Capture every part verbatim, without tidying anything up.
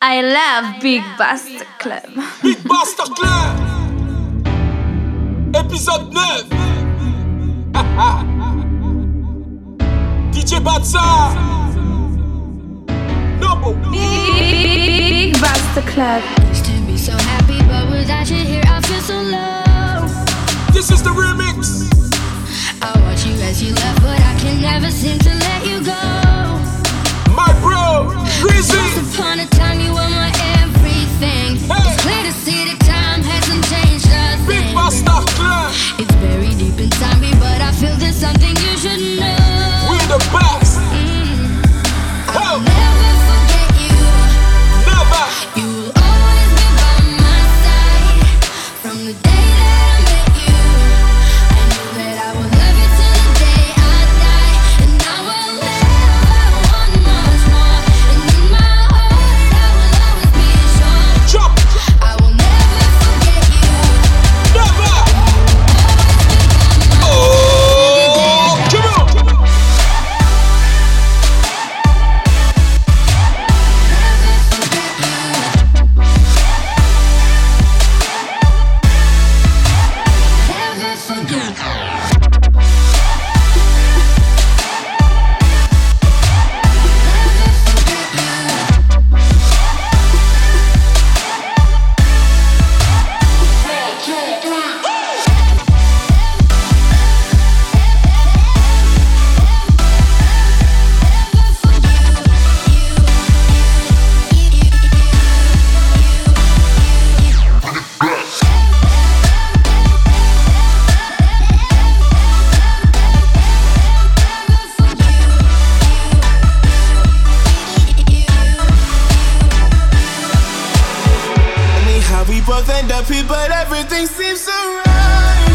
I love Big Bastard Club. Big Bastard Club. Épisode neuf. D J Batsa. Nobo. Big Bastard Club. Used to be so happy, but without you here, I feel so low. This is the remix. I watch you as you left, but I can never seem to let you go. My bro, Rizzy. Once upon a time, you were my everything. Hey. It's clear to see that time hasn't changed a thing. Big Bastard Club. It's very deep inside me, but I feel there's something you should know. We the best. Mm. I'll Oh. never forget you. Never. You will always be by my side. From the day that I met you, I knew that I would love you till the day I die. And I will never want much more. And in my heart, I will always be sure. Drop. I will never forget you. Never. Oh, come on. Never forget. Me how we both end up here, but everything seems so right.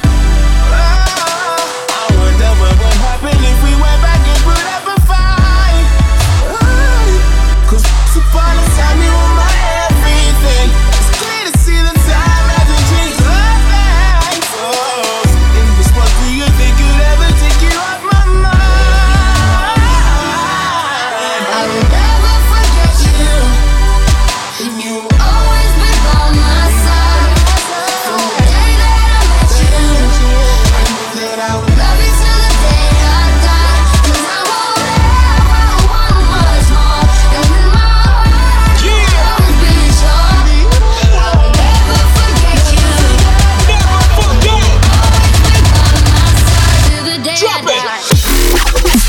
Oh, I wonder what would happen if we went back and put up a fight. Oh, Cause once upon a time you were my everything. It's clear to see the time hasn't changed a thing. Oh, in this world, do you think you'd ever take you off my mind? I will never forget you. You will always be by my side. From the day that I met you, I knew that I would love you till the day I die. 'Cause I will never want much more. And in my heart, I will always be sure. I will never forget you. Never forget. Always be by my side till the day Drop I it. die.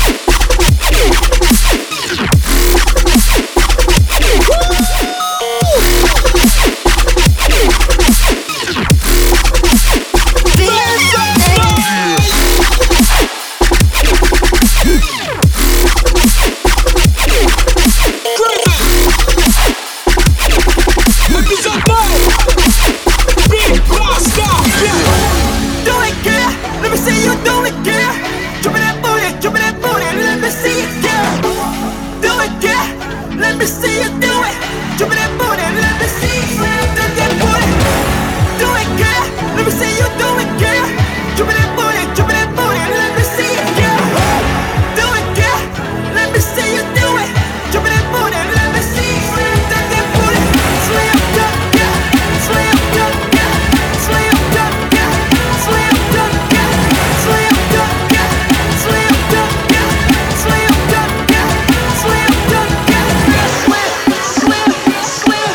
Do it, girl. Let me see you do it, girl. Drop me that booty, drop me that booty. Let me see it, girl. Do it, girl. Let me see you do it. Drop me that booty, let me see it. Do that booty. Do it, girl. Let me see you do it, girl. Drop me that booty, drop me that booty. Let me see it, girl. Do it, girl. Let me see you do it. Drop me that booty, let me see it. Do that booty. Sway up, girl, girl. Sway up, girl, girl. Sway up, girl, girl. Sway up, girl, girl. Sway up, girl, girl. Sway up, girl, girl. Sway up, girl, girl. Sway up, girl, girl. Sway, sway, sway.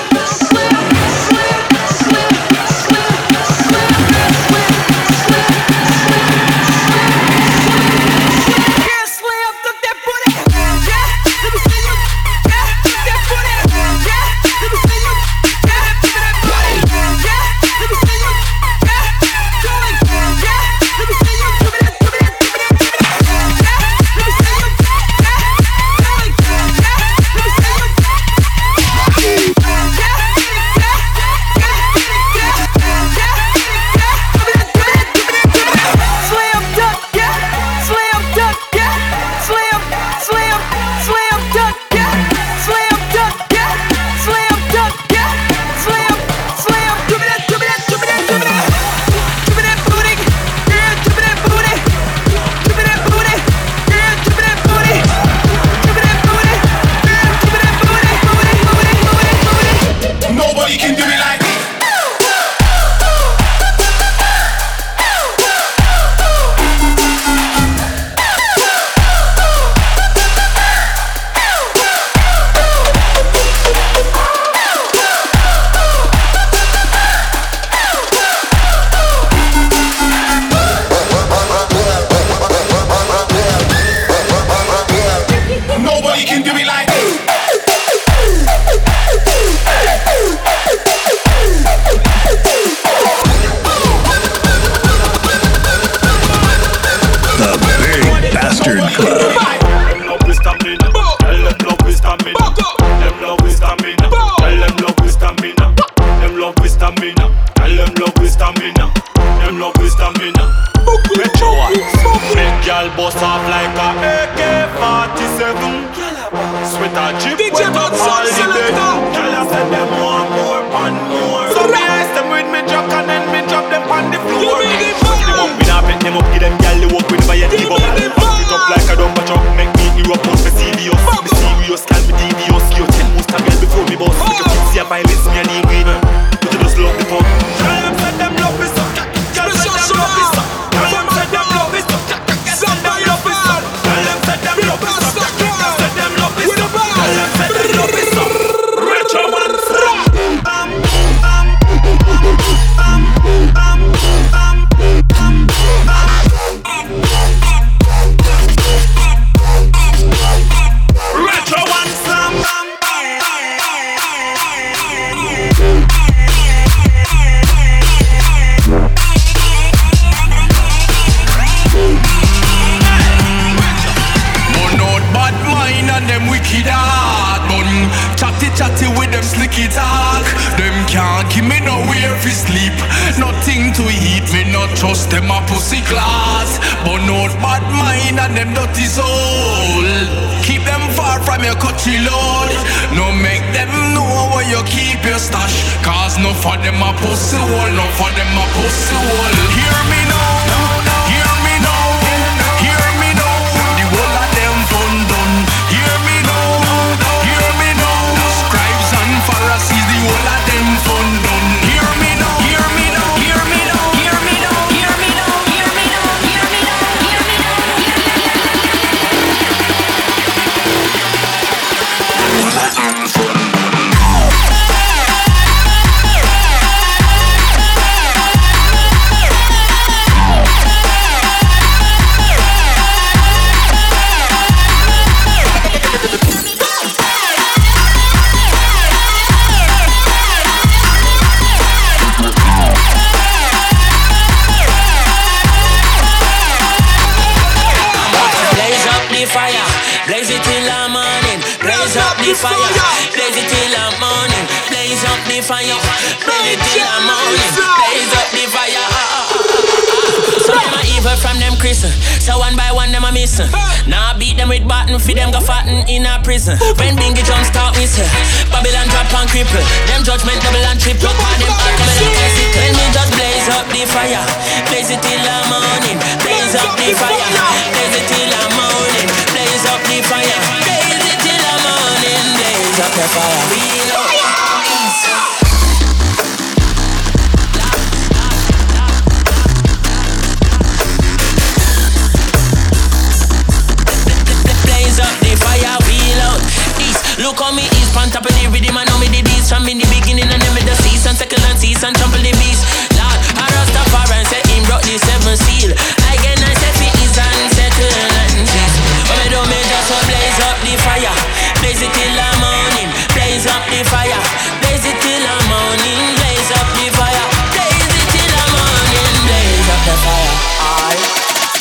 wicked talk. Them can't give me nowhere to sleep. Nothing to eat, me not trust them a pussy class. But not bad mind and them dirty soul. Keep them far from your country, Lord. No make them know where you keep your stash. Cause no for them a pussy hole, no for them a pussy hole. Hear me now, hear me now, hear me now. The whole of them fun done. Hear me now, hear me now. Scribes and Pharisees, the whole of them fun done. Hear me now, hear me now, hear me now, hear me now, hear me now, hear me now, hear me now, hear me now. Whole of them fun done. Fire, blaze it till the morning. Blaze up the fire, blaze it till the morning. Blaze up the fire, blaze it till the morning. Blaze up the fire. Some them are evil from them Christian, so one by one them a missing. Now I beat them with baton, feed them go fatten in a prison. When Bingy Jones start me say, Babylon drop and cripple. Them judgment double and triple. Call them back coming like I see. Tell me just blaze up the fire, blaze it till the morning. Blaze up the fire, blaze it till the morning. Blaze up the fire, blaze it till the morning. Blaze up the fire, we know. Blaze up the fire, wheel out. East, look on me east, pan top of the rhythm. I know me the beast from in the beginning and then with the season, second and season, trample the beast. Lord, I Rastafari and say him brought the seven seal. Again I say fi is and settle and peace. When me do me just so blaze up the fire, blaze it till the morning. Blaze up the fire, blaze it till the morning. Blaze up the fire, blaze it till the morning. Blaze up the fire, aye.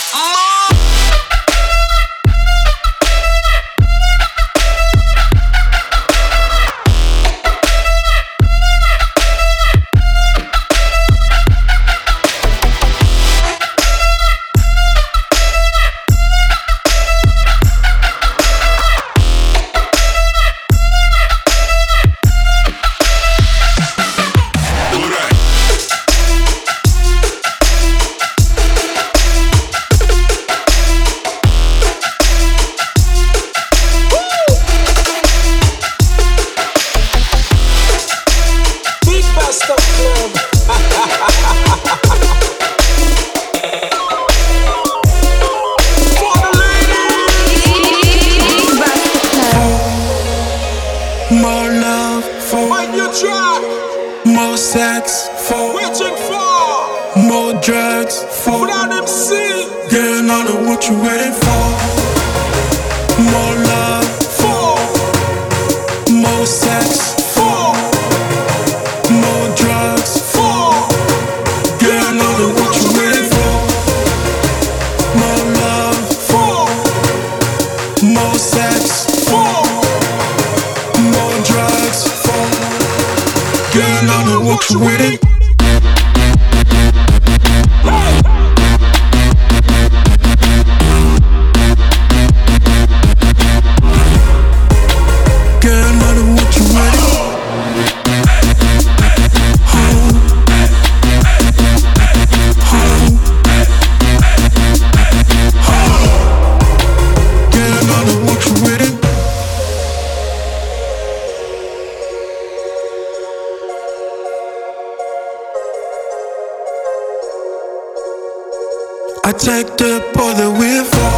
I take the ball that we're for.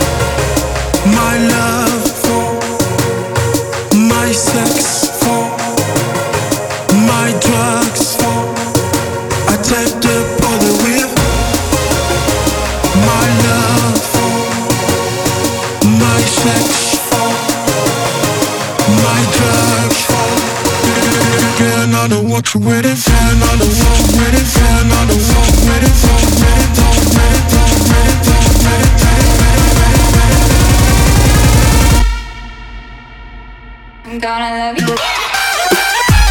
My love for. My sex for. My drugs for. I take the ball that we're for. My love for. My sex for. My drugs for. Girl, I know what you're waiting for. I know what you're waiting for. I know what you're waiting for. I'm gonna love you.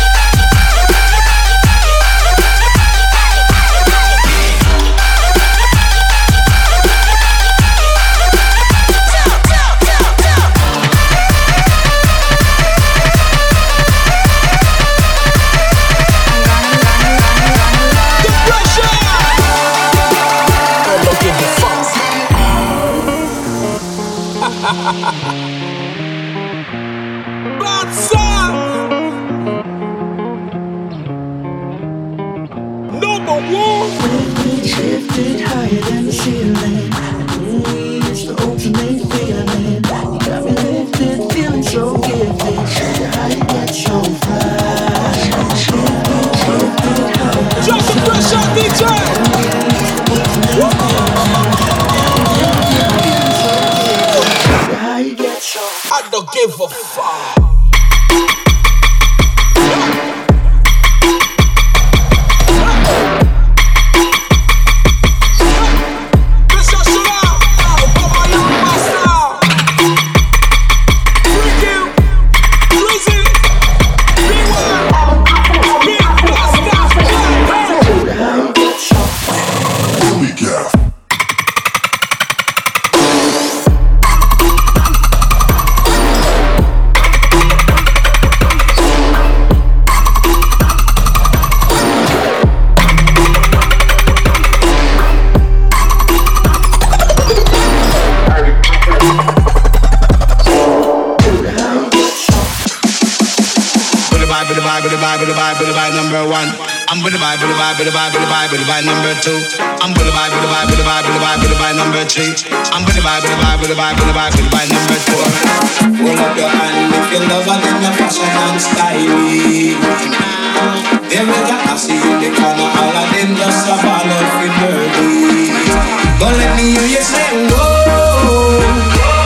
vibe, with the vibe, with the vibe, with the vibe, with the vibe number one. I'm with the vibe, with the vibe, with the vibe, with the vibe, with the vibe number two. I'm with the vibe, with the vibe, with the vibe, with the vibe, with the vibe number three. I'm with the vibe, with the vibe, with the vibe, with the vibe, with the vibe number four. Hold up your hand if you love her, then your fashion and styling. There we go, I see you in the corner, all of them just a ball of the dirty. Don't let me hear you say whoa.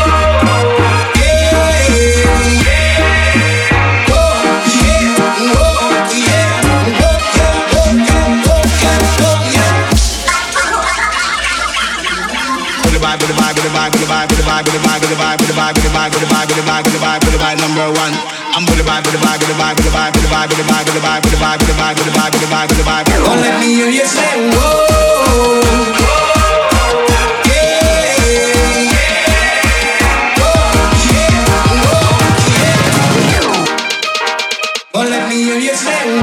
Number one, I'm with the vibe, with the vibe, with the vibe, with the vibe, with the vibe, with the vibe, with the vibe, with the vibe, with the vibe, with the vibe, with the vibe, with the vibe. Don't let me hear you say whoa. Don't let me hear you say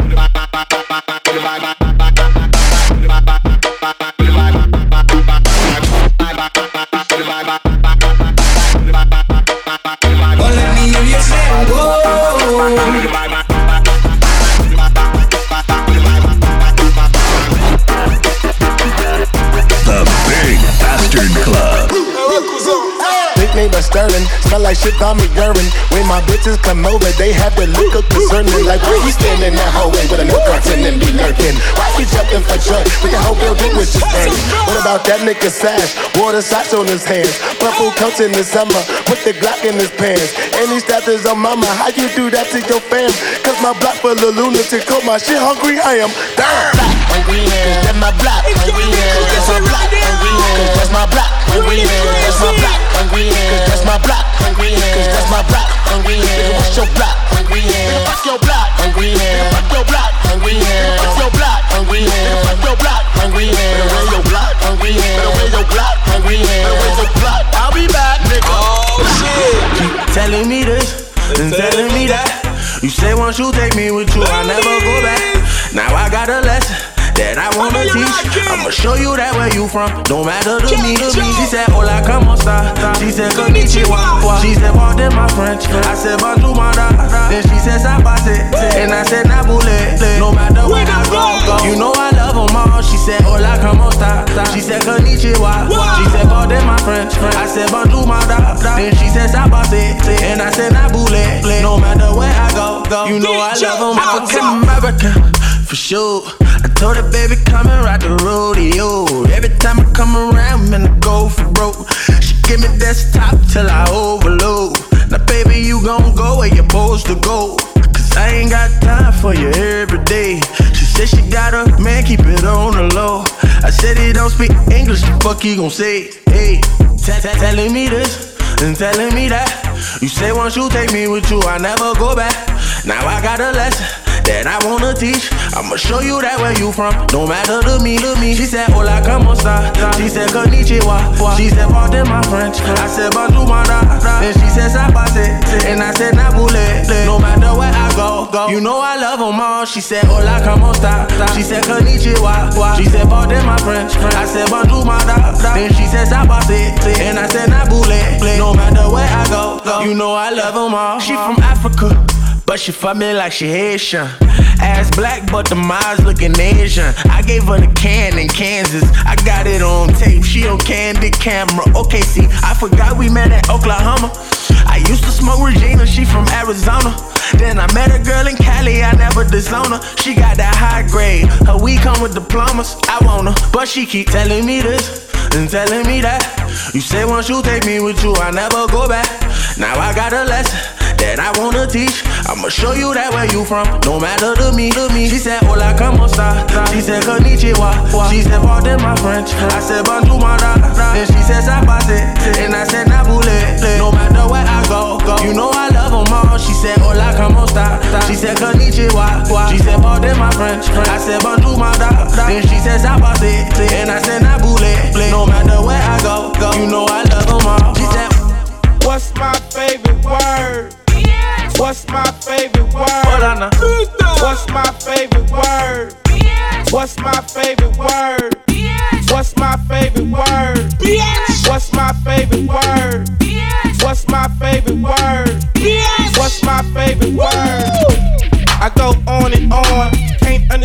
Sterling, smell like shit on me urine. When my bitches come over, they have to look up concerning. Like where he standing in that hallway with a no curtain and be lurking. Why he jumping for joy? When the whole building was just burning. What about that nigga sash? Water socks on his hands. Purple coats in the summer, put the Glock in his pants. And he stabbed his own mama. How you do that to your fam? Cause my block full of lunatic. Cause my shit hungry, I am. Damn. Hungry hands, that's my block. Hungry hands, that's my block. Hungry hands, that's my block. Hungry hands, that's my block. Hungry hands, that's my block. Hungry hands, cause that's my block. Hungry hands, what's your block? Hungry hands, fuck your block. Hungry hands, fuck your block. Hungry hands, fuck your block. Hungry hands, fuck your block. Hungry hands, better wear your block. Hungry hands, better wear your block. Hungry hands, better wear your block. I'll be back, nigga. Oh shit. Keep telling me this and telling me that. You say once you take me with you, I'll never go back. Now I got a lesson that I wanna teach. I'ma show you that where you from, don't matter to me, to me. She said, hola, como esta? She said, konnichiwa. She said, pardon my French. I said, bonjour, madame. Then she said, sabase. And I said, nabule. No matter where I go, go. You know I love them all. She said, hola, como esta? She said, konnichiwa. She said, pardon my French. I said, bonjour, madame. Then she said, sabase. And I said, nabule. No matter where I go, go. You know I love them all. African American, for sure. I told her, baby, come and ride the rodeo. Every time I come around, man, I go for broke. She give me desktop till I overload. Now, baby, you gon' go where you're supposed to go. Cause I ain't got time for you every day. She said she got a man, keep it on the low. I said he don't speak English, the fuck he gon' say? Hey, telling me this and telling me that. You say once you take me with you, I never go back. Now I got a lesson that I wanna teach. I'ma show you that where you from, don't matter to me, to me. She said, hola, como esta? She said, konnichiwa. She said, pardon my French. I said, bonjour, madame. Then she said, sabase. And I said, nabule. No matter where I go, go. You know I love them all. She said, hola, como esta? She said, konnichiwa. She said, pardon my French. I said, bonjour, madame. Then she said, sabase. And I said, nabule. No matter where I go, go. You know I love them all. She from Africa, but she fuck me like she Haitian. Ass black, but the eyes looking Asian. I gave her the can in Kansas. I got it on tape, she on candid camera. Okay, see, I forgot we met at Oklahoma. I used to smoke Regina, she from Arizona. Then I met a girl in Cali, I never disown her. She got that high grade, her weed come with diplomas. I want her, but she keep telling me this and telling me that. You say once you take me with you, I never go back. Now I got a lesson that I wanna teach. I'ma show you that where you from, no matter to me, to me. She said, hola, como esta? She said, konnichiwa. She said, pardon my French. I said, bonjour, madame. Then she said, sabase. And I said, nabule. No matter where I go, go. You know I love them all. She said, hola, como esta? She said, konnichiwa. She said, pardon my French. I said, bonjour, madame. Then she said, sabase. And I said, nabule. No matter where I go, go. You know I love them all. She said, what's my favorite word? What's my favorite word? What's my favorite word? What's my favorite word? What's my favorite word? What's my favorite word? What's my favorite word? What's my favorite word? I go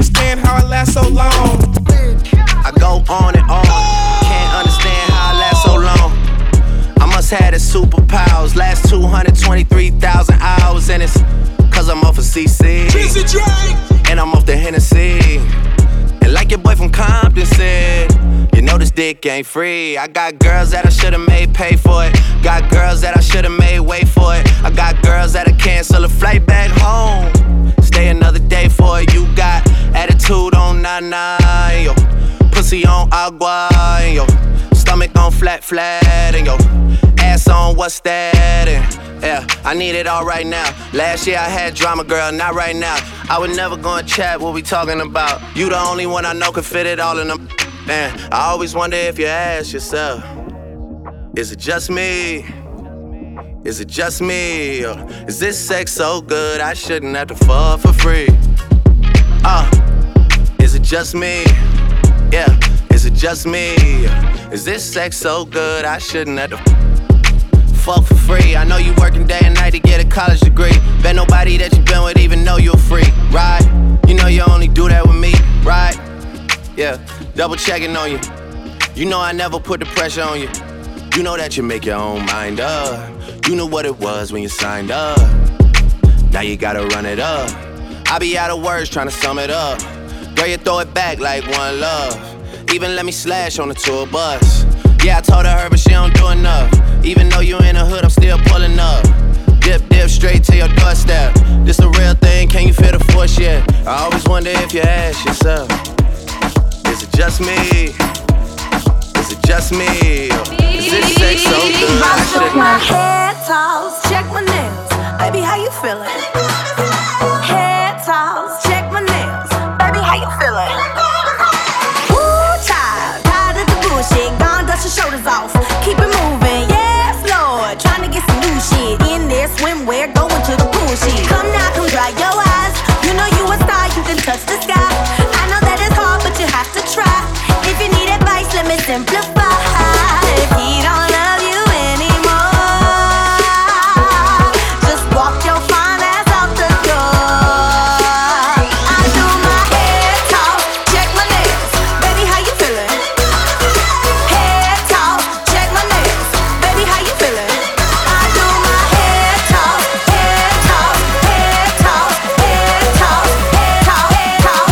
understand how I last so long. I go on and on, can't understand how I last so long. I must have the superpowers, last two hundred twenty-three thousand hours, and it's cause I'm off of C C, and I'm off the Hennessy. And like your boy from Compton said, you know this dick ain't free. I got girls that I should've made pay for it. Got girls that I should've made wait for it. I got girls that'll cancel a flight back home, stay another day for it. You got attitude on nana, yo. Pussy on agua, and yo. Stomach on flat, flat, and yo. Ass on what's that, and yeah, I need it all right now. Last year I had drama, girl, not right now. I would never go and chat what we talking about. You the only one I know can fit it all in them. Man, I always wonder if you ask yourself, is it just me? Is it just me? Or is this sex so good I shouldn't have to fuck for free? Uh, is it just me? Yeah, is it just me? Is this sex so good I shouldn't have to fuck for free? I know you working day and night to get a college degree. Bet nobody that you been with even know you're free, right? You know you only do that with me, right? Yeah, double checking on you. You know I never put the pressure on you. You know that you make your own mind up. You knew what it was when you signed up. Now you gotta run it up. I be out of words trying to sum it up. Girl, you throw it back like one love. Even let me slash on the tour bus. Yeah, I told her, but she don't do enough. Even though you in the hood, I'm still pulling up. Dip, dip, straight to your doorstep. This a real thing, can you feel the force yet? I always wonder if you ask yourself, is it just me? Is it just me? Is this sex so good? I check my head toss, check my nails. Baby, how you feeling? Head toss, check my nails. Baby, how you feeling? Ooh, child, tired of the bullshit. Gone, dust your shoulders off. Keep it moving, yes, Lord. Trying to get some new shit in there, swimwear, going to the pool shit. Come now, come dry your eyes. You know you a star, you can touch the sky. I know that it's hard, but you have to try. If you need advice, let me simplify. If he don't love you anymore, just walk your fine ass out the door. I do my head talk, check my nails. Baby, how you feeling? Head talk, check my nails. Baby, how you feeling? I do my head talk, head talk, head talk, head talk, head talk, head talk,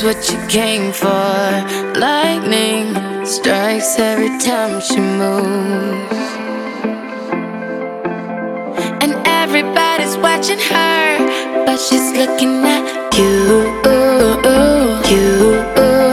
is what you came for. Lightning strikes every time she moves, and everybody's watching her, but she's looking at you, you, you.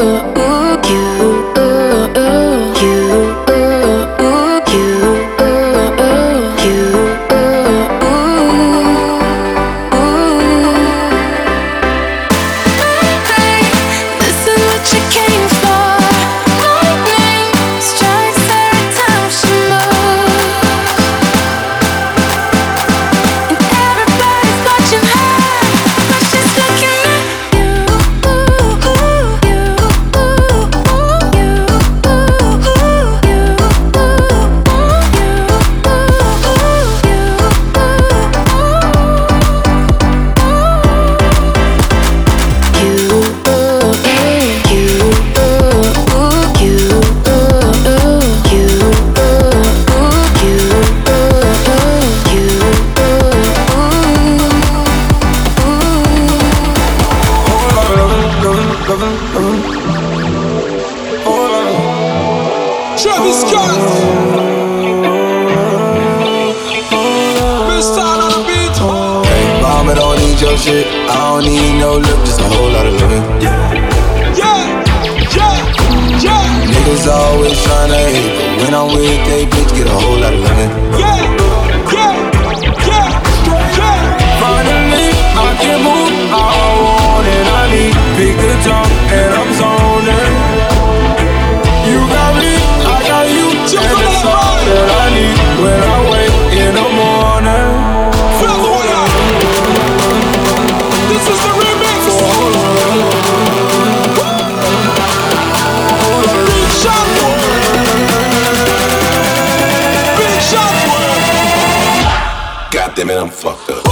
Damn it, I'm fucked up.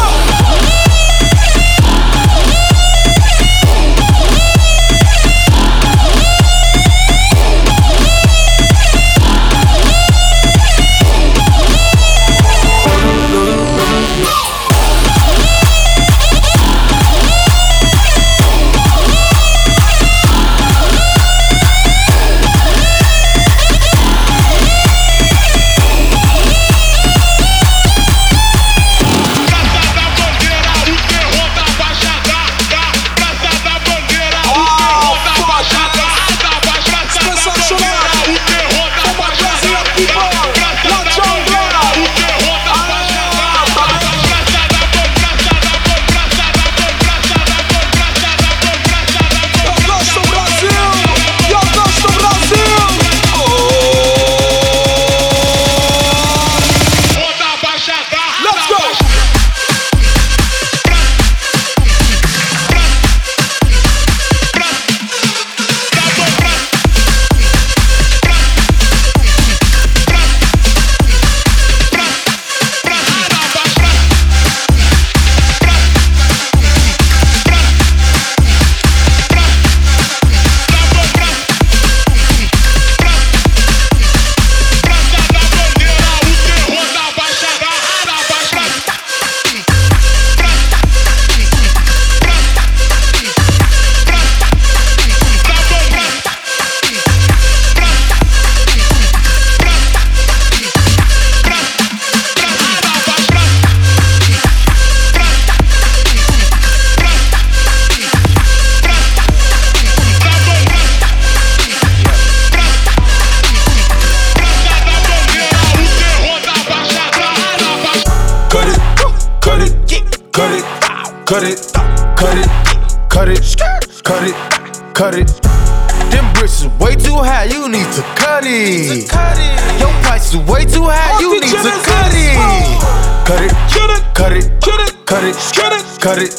Cut it, cut it, cut it, cut it, cut it. Them bricks is way too high, you need to cut it. Your price is way too high, you need to cut it. Cut it, cut it, cut it, cut it, cut it, cut it,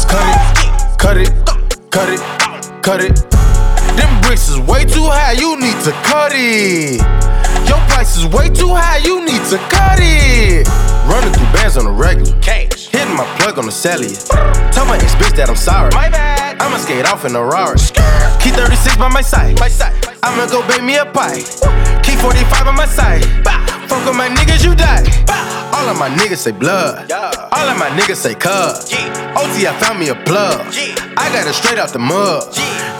cut it, cut it, cut it. Them bricks is way too high, you need to cut it. Your price is way too high, you need to cut it. Running through bands on the regular. Cash. Hitting my plug on the cellular. Tell my ex bitch that I'm sorry. My bad. I'ma skate off in a Rari. Key thirty-six by my side. My side. I'ma go bake me a pie. Key forty-five on my side. Fuck with my niggas, you die. All of my niggas say blood. All of my niggas say cuz. O T, I found me a plug. I got it straight out the mud.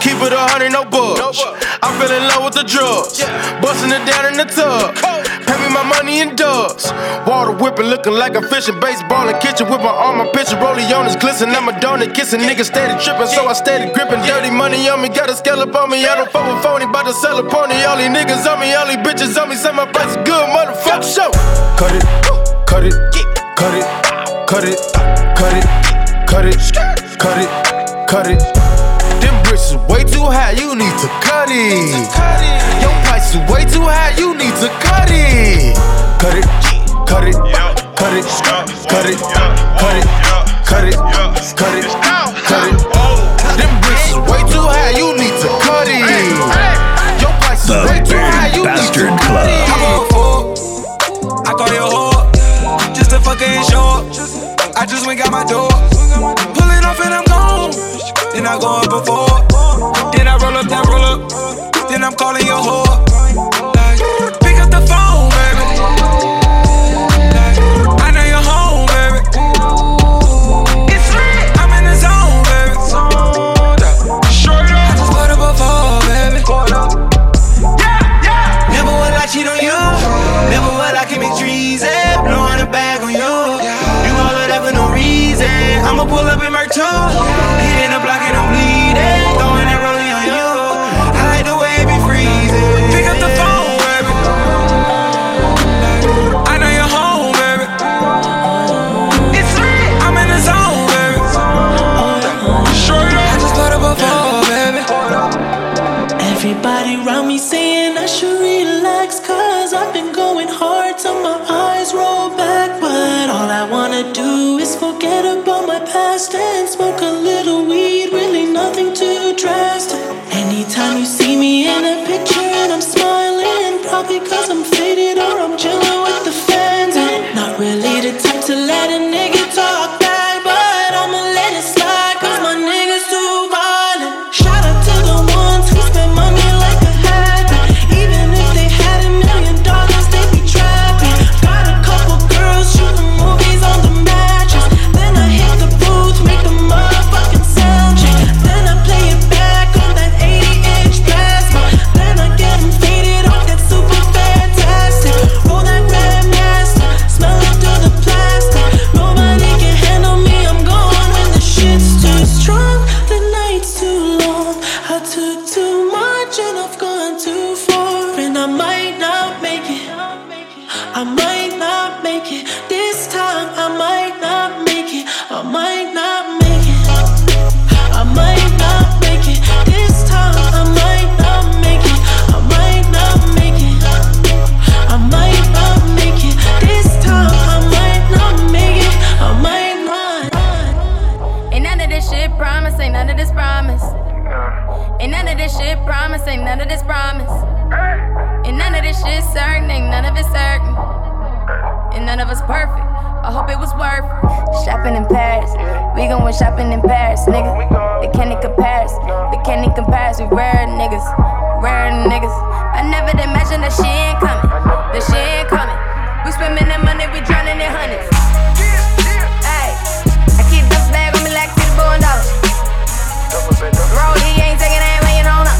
keep it a hundred, no budge. I fell in love with the drugs, busting it down in the tub. Pay me my money in dubs. Water whipping, looking like a fishing. Baseball in kitchen with my arm, my pitcher. Rollie on his glisten. I'm a donut kissing. Niggas steady tripping, so I steady gripping. Dirty money on me, got a scallop on me. I don't fuck with phony, bout to sell a pony. All these niggas on me, all these bitches on me. Say my price is good, motherfucker. Show. Cut it, cut it, cut it, cut it, cut it, cut it, cut it, cut it. Them bricks is way too high, you need to cut it. Your price is way too high, you need to cut it. Cut it, cut it, cut it, cut it, cut it, cut it, cut it, cut it. Them bricks is way too high, you need to cut it. Your price is way too high, you need to cut it. I call you a whore, just to fucking show up. I just went got my door, pulling off and I'm gone. Then I go up before, then I roll up, then roll up, then I'm calling your whore. Like, pick up the phone, baby. Like, I know you're home, baby. It's lit, I'm in the zone, baby. Short up, I just put up before, baby. Yeah, yeah. Never would I cheat on you, never would I commit treason. Blowing a bag on you, you all of that for no reason. I'ma pull up in my too. Hitting the block and I'm bleeding. Throwing that rolling on you. I like the way it be freezing. Pick up the phone, baby. I know you're home, baby. It's lit, I'm in the zone, baby. Short up, I just put up a phone, baby. Everybody around me saying I should relax, cause I've been going hard till my eyes roll back. But all I wanna do is forget about my past and smoke a little weed, really nothing too drastic. Anytime you see me in a picture and I'm smiling, probably cause I'm faded or I'm chilling with the fans. I'm not really the type to let a nigga talk back, but I'ma let it slide cause my niggas too violent. Shout out to the ones who spend money like I had to. Even if they had a million dollars, they be trapping. Got a couple girls shooting movies on the mattress. Then I hit the booth, make the motherfucking sound check. Then I play it back on that eighty inch plasma. Then I get them faded off that super fantastic. Roll that Grandmaster, smell it through the plastic. Nobody can handle me, I'm gone when the shit's too strong. The night's too long, I took too much and I've gone too far. And I might not make it, I might not make it. This time I might not make it, I might not make it, I might not make it. This time I might not make it, I might not make it, I might not make it. This time I might not make it, I might not. Ain't none of this shit promise, ain't none of this promise. Ain't none of this shit promise, ain't none of this promise. Ain't none of this shit certain, ain't none of it certain. And none of us perfect, I hope it was worth it. Shopping in Paris, we gon' win shopping in Paris, nigga. They can't compare us, they can't compare us. We rare niggas, rare niggas. I never imagined that shit ain't coming, that shit ain't coming. We swimming in money, we drowning in hundreds. Ay, I keep this bag on me like it's a dollars. Roll, he ain't taking that when you don't know.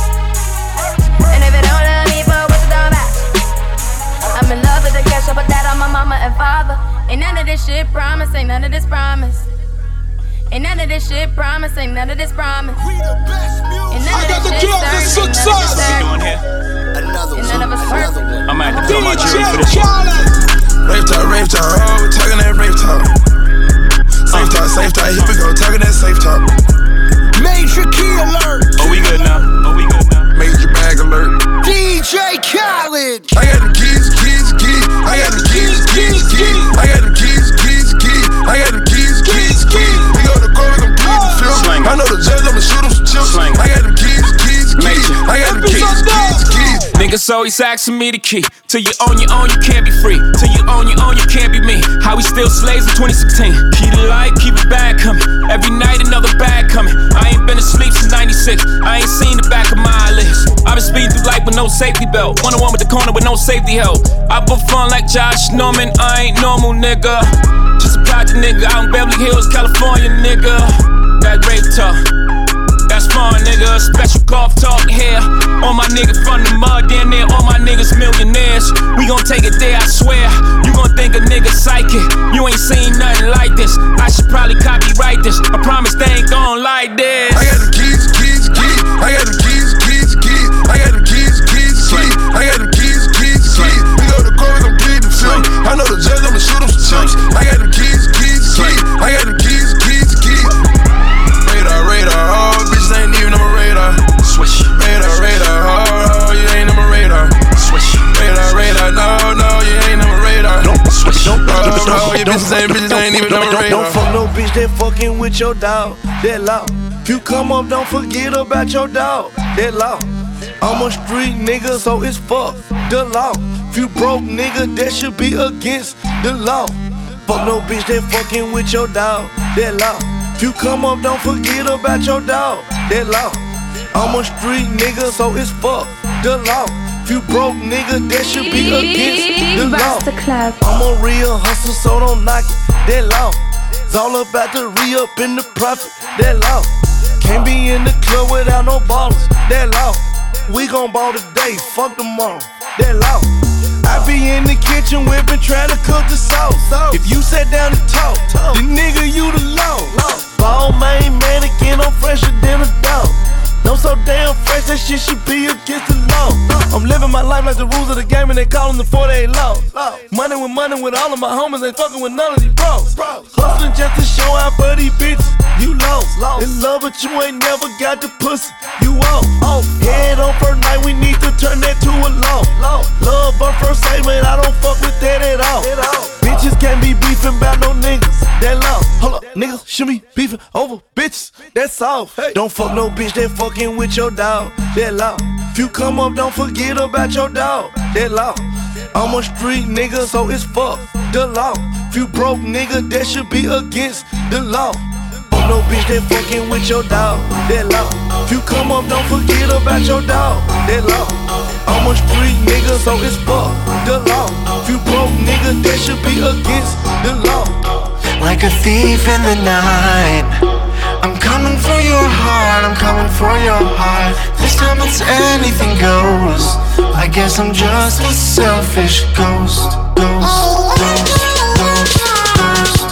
And if it don't love me, but what's it all about? I'm in love with the cash, I put that on my mama and father. Ain't none of this shit promise, ain't none of this promise. Ain't none of this shit promise, ain't none of this promise. Ain't none of this shit certain, ain't none of this certain. Another one, none of us perfect. I'm gonna have to throw my jury for this shit. Rave talk, rave talk, oh, we talking that rave talk. Safe talk, safe talk, here we go, talking that safe talk. Major key alert. Oh, we good now. Oh, we good now. Major bag alert. D J Khaled. I got them keys, keys, keys. I got them keys, keys, keys. I got them keys, keys, keys. I got them keys, keys, keys. We go to court, we gon' plead the fifth. I know the judge, I'ma shoot him some chips. I got them keys, keys, keys. I got them keys, keys, keys. Niggas always asking me the key. Till you own your own, you can't be free. Till you own your own, you can't be me. How we still slaves in twenty sixteen. Keep the light, keep it bad coming. Every night another bag coming. I ain't been asleep since ninety-six. I ain't seen the back of my eyelids. I've been speeding through life with no safety belt. One on one with the corner with no safety help. I put fun like Josh Norman. I ain't normal, nigga. Just a project nigga out in Beverly Hills, California, nigga. That rape talk, that's smart nigga, special golf talk here. All my niggas from the mud, damn near all my niggas millionaires. We gon' take it there, I swear. You gon' think a nigga psychic. You ain't seen nothing like this. I should probably copyright this. I promise they ain't gon' like this. I got them keys, keys, keys. I got them keys, keys, keys. I got them keys, keys, keys. I got them keys, keys, keys. We go to court, we gon' plead the film. I know the judge, I'ma shoot him some chips. I got them keys, keys, keys. I got them keys, keys, keys. Radar, radar, oh, bitches ain't even on my radar. Swish. Radar, radar, oh, you ain't on my radar. Swish. Radar, radar, no, no, you ain't on my radar. Don't switch. Don't, no, no, your bitches ain't, bitches ain't even on my radar. Don't fuck no bitch that fucking with your dog. That law. If you come up, don't forget about your dog. That law. I'm a street nigga, so it's fuck the law. If you broke nigga, that should be against the law. Fuck no bitch that fucking with your dog. That law. If you come up, don't forget about your dog. That law. I'm a street nigga, so it's fuck the law. If you broke nigga, that should be against the law. I'm a real hustler, so don't knock it. That law. It's all about the re-up in the profit. That law. Can't be in the club without no ballers. That law. We gon' ball today, fuck tomorrow. That law. I be in the kitchen whipping, trying to cook the sauce. If you sat down to talk, the nigga you the law. Ball main mannequin, I'm fresher than a dog. I'm so damn fresh, that shit should be against the law. I'm living my life like the rules of the game and they callin' the forty-eight law. Money with money with all of my homies, ain't fucking with none of these bros. Hustling just to show out for these bitches. You lost, in love but you ain't never got the pussy. You off, head on first night, we need to turn that to a law. Love on first sight, man, I don't fuck with that at all. Bitches can't be beefing about no niggas. That law, hold up, niggas should be beefing over bitches. That's all. Don't fuck no bitch that fucking with your dog. That law. If you come up, don't forget about your dog. That law. I'm a street nigga, so it's fuck the law. If you broke nigga, that should be against the law. Fuck no bitch that fucking with your dog. That law. If you come up, don't forget about your dog. That law. I'm a street nigga, so it's fuck the law. If you broke nigga, that should be against the law. Like a thief in the night, I'm coming for your heart, I'm coming for your heart. This time it's anything goes. I guess I'm just a selfish ghost. Ghost, ghost, ghost, ghost.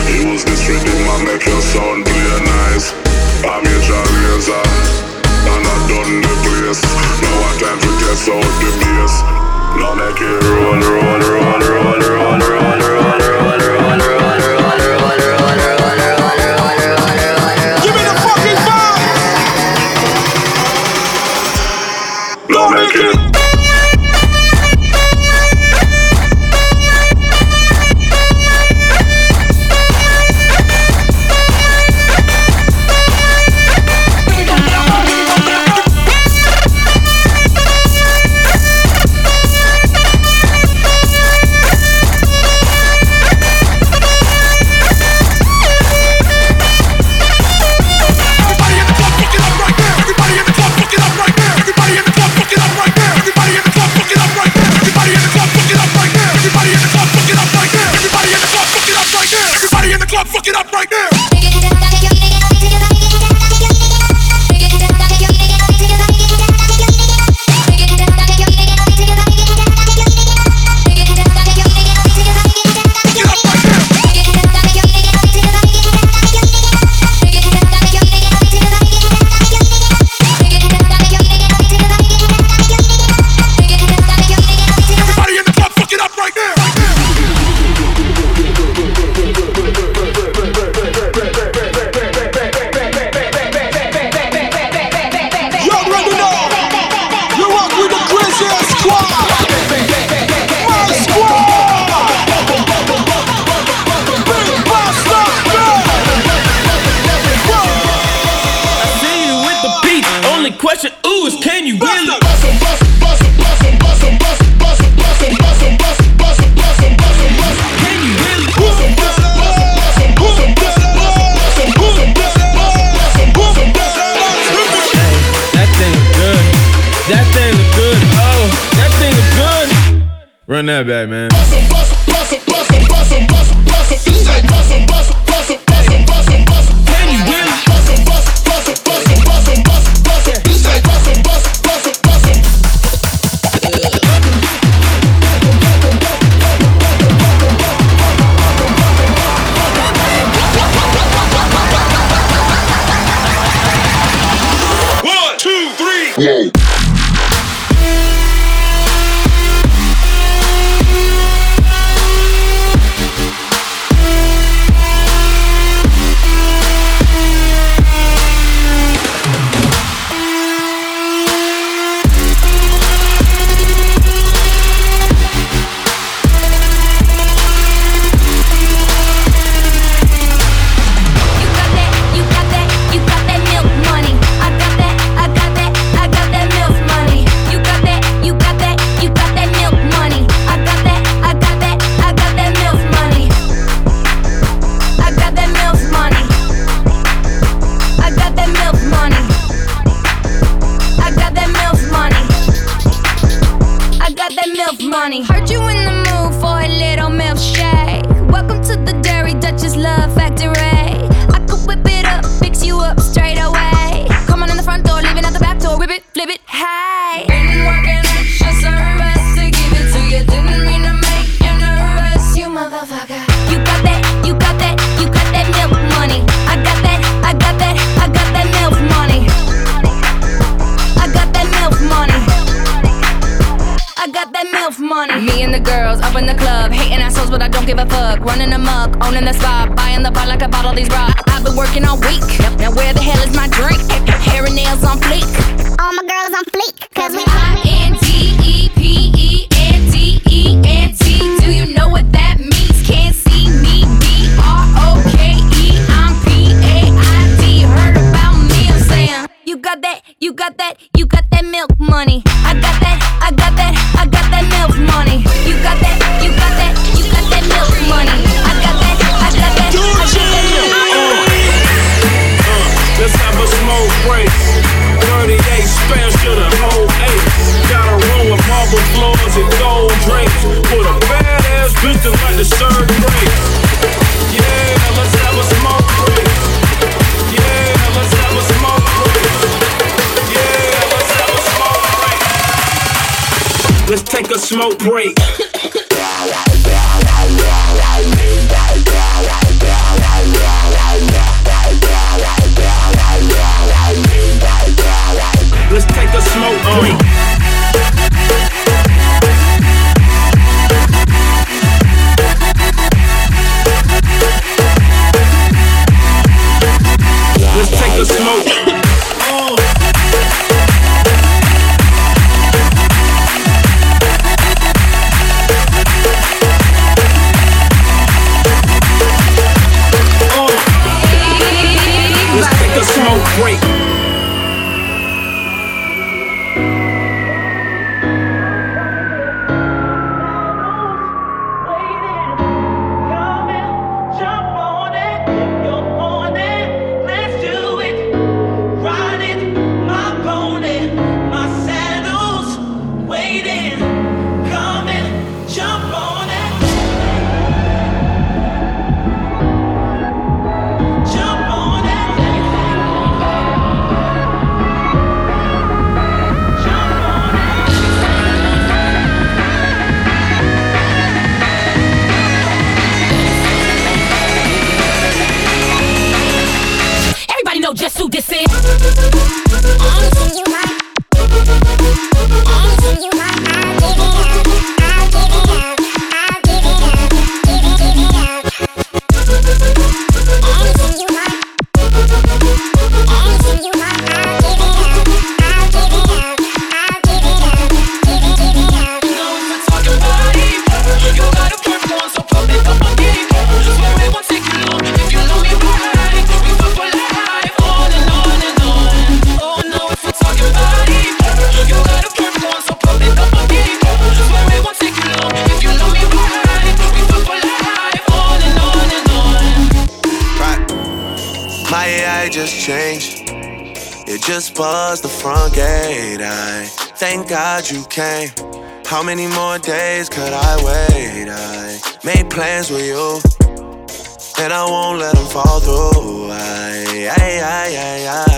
Use this rhythm and make your sound play nice. I'm your razor, and I done the place. Now one time to test out the bass. Now make it roll, roll, roll, roll, roll, roll, roll, roll, roll, roll, roll. Give me the fucking vibe. Now make it. Fuck it up right now. Question, ooh, is can you really? Run that back, man. One, two, three. Whoa. Money. Heard you in the mood for a little milkshake. Welcome to the Dairy Duchess Love Factory. I could whip it up, fix you up straight away. Come on in the front door, leaving out the back door. Whip it, flip it, hey. Been working extra service to give it to you. Didn't mean to make you nervous, you motherfucker. You got that, you got that, you got that milk money. I got that, I got that, I got that milk money. I got that milk money. I got that MILF money. Me and the girls up in the club, hating assholes, but I don't give a fuck. Running amok, owning the spot, buying the bar like I bought all these rocks. I've been working all week. Now where the hell is my drink? Hair and nails on fleek. All my girls on fleek, cause we I N D E P E N D E N T. Do you know what that means? Can't see me. B R O K E. I'm P A I D. Heard about me? I'm saying you got that, you got that, you got that milk money. I got that, I got that, I got that milk money. You got that, you got that, you got that milk money. I got that, I got that, I got that milk money. Uh, let's have a smoke break. thirty-eight special the whole eight. Got a room with marble floors and gold drapes. With a badass bitch that like to serve grapes. Yeah, let's have a smoke break. Yeah, let's have a smoke break. Yeah, let's have a smoke break. Let's take a smoke break. light just changed. It just buzzed the front gate. I thank God you came. How many more days could I wait? I made plans with you, and I won't let them fall through. I, I, I, I, I.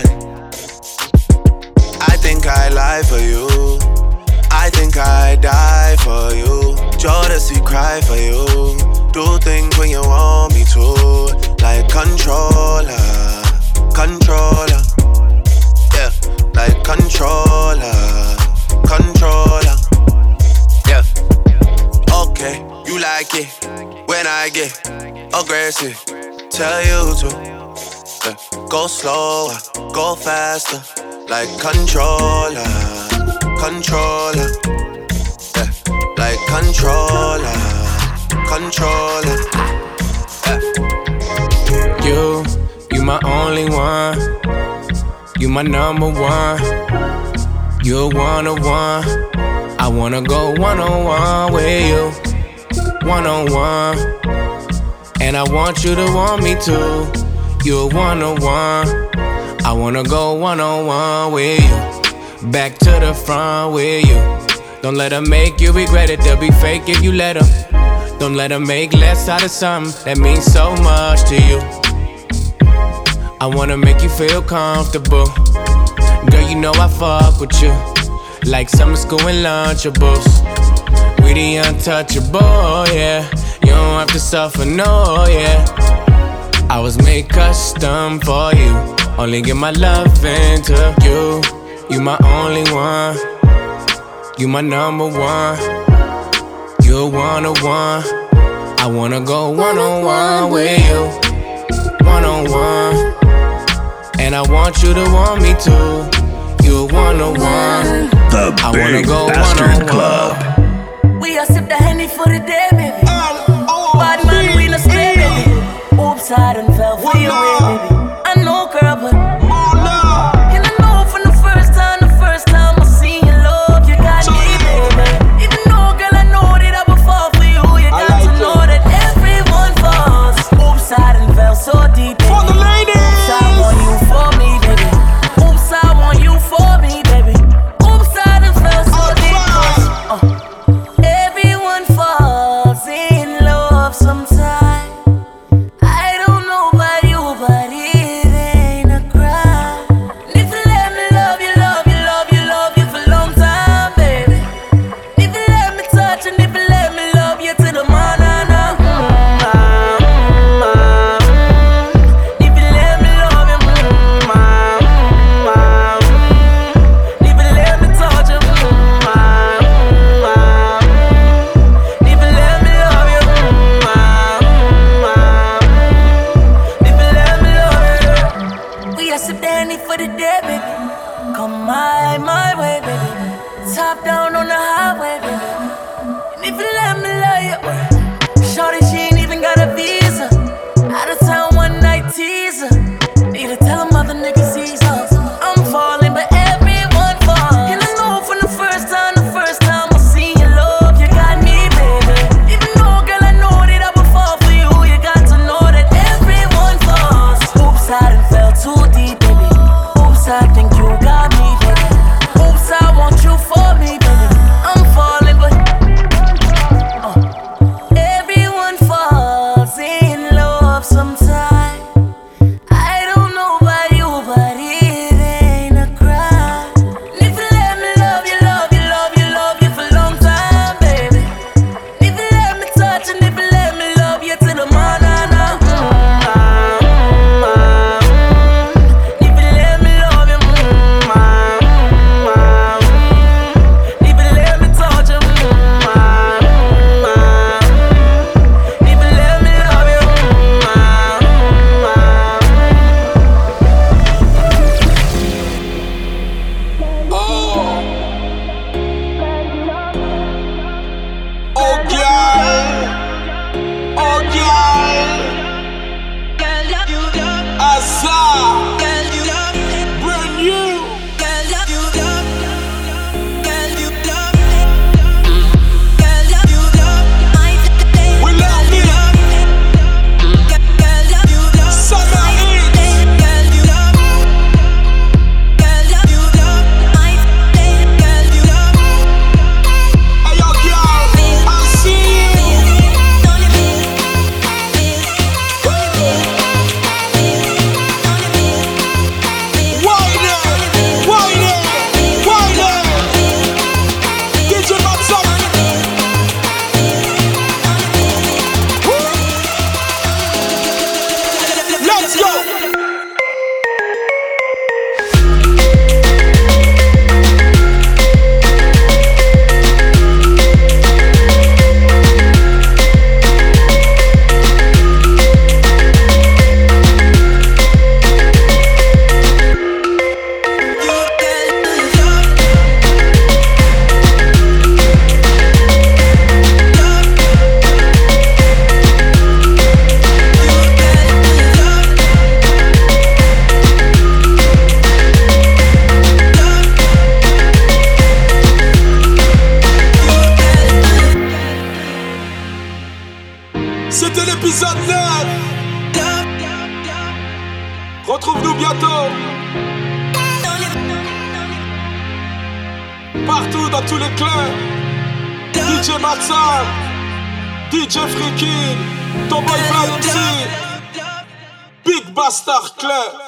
I think I lie for you. I think I die for you. Jodeci cry for you. Do things when you want me to, like controller, controller. Yeah, like controller, controller. Yeah. Okay, you like it when I get aggressive. Tell you to yeah. Go slower, go faster, like controller, controller. Yeah, like controller, controller. Yeah. You, you my only one. You my number one. You're one on one. I wanna go one on one with you, one on one. And I want you to want me too. You're one on one. I wanna go one on one with you. Back to the front with you. Don't let them make you regret it. They'll be fake if you let them. Don't let them make less out of something that means so much to you. I wanna make you feel comfortable. Girl, you know I fuck with you like summer school and Lunchables. We the untouchable, yeah. You don't have to suffer, no, yeah. I was made custom for you. Only give my love into you. You my only one. You my number one. You're one on one. I wanna go one on one with you, one on one. And I want you to want me too. You're one on one. The I Big wanna go Bastard one on Club. one. We are sip the Henny for the day, baby. Bad man, we no stay, baby. Oops, I done fell for your way, baby. I know, girl, but and I know from the first time, the first time I seen your love, you got me, baby. Even though, girl, I know that I would fall for you, you got to know that everyone falls. Oops, I done fell so deep, baby. For the ladies. Oops, I want you for me, baby. Oops, I want you for me, baby. Oops, I done fell so deep, 'cause, uh, everyone falls. Retrouve-nous bientôt. Partout dans tous les clubs. D J Matson, D J Freaky, ton boy Fly M C, Big Bastard Club.